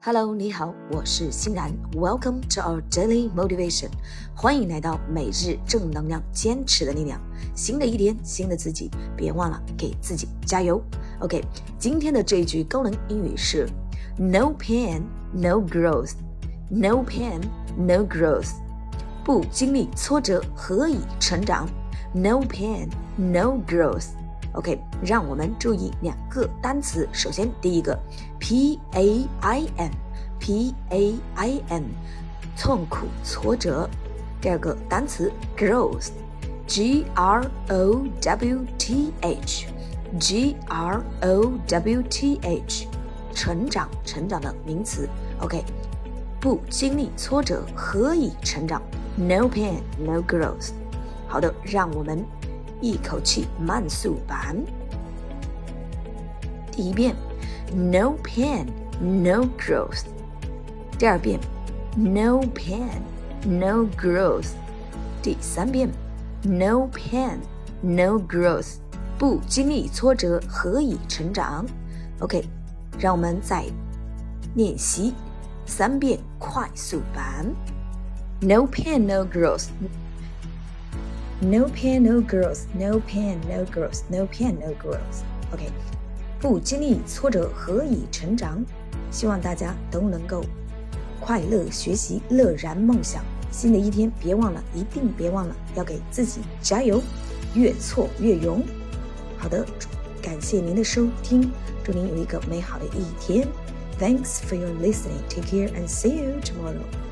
Hello， 你好，我是欣然。Welcome to our daily motivation， 欢迎来到每日正能量，坚持的力量。新的一天，新的自己，别忘了给自己加油。OK， 今天的这一句高能英语是 No pain, no growth. No pain, no growth. 不经历挫折，何以成长 ？No pain, no growth.OK， 让我们注意两个单词。首先，第一个 pain， 痛苦、挫折。第二个单词 growth， growth， 成长的名词。OK， 不经历挫折，何以成长 ？No pain, no growth。好的，让我们一口气慢速版。第一遍 No pain, no growth。 第二遍 No pain, no growth。 第三遍 No pain, no growth。 不经历挫折，何以成长 OK， 让我们再练习3遍快速版。 No pain, no growth。No pain, no growth. No pain, no growth. No pain, no growth. OK， 不经历挫折，何以成长？希望大家都能够快乐学习，乐然梦想。新的一天，一定别忘了要给自己加油，越挫越勇。好的，感谢您的收听，祝您有一个美好的一天。Thanks for your listening. Take care and see you tomorrow.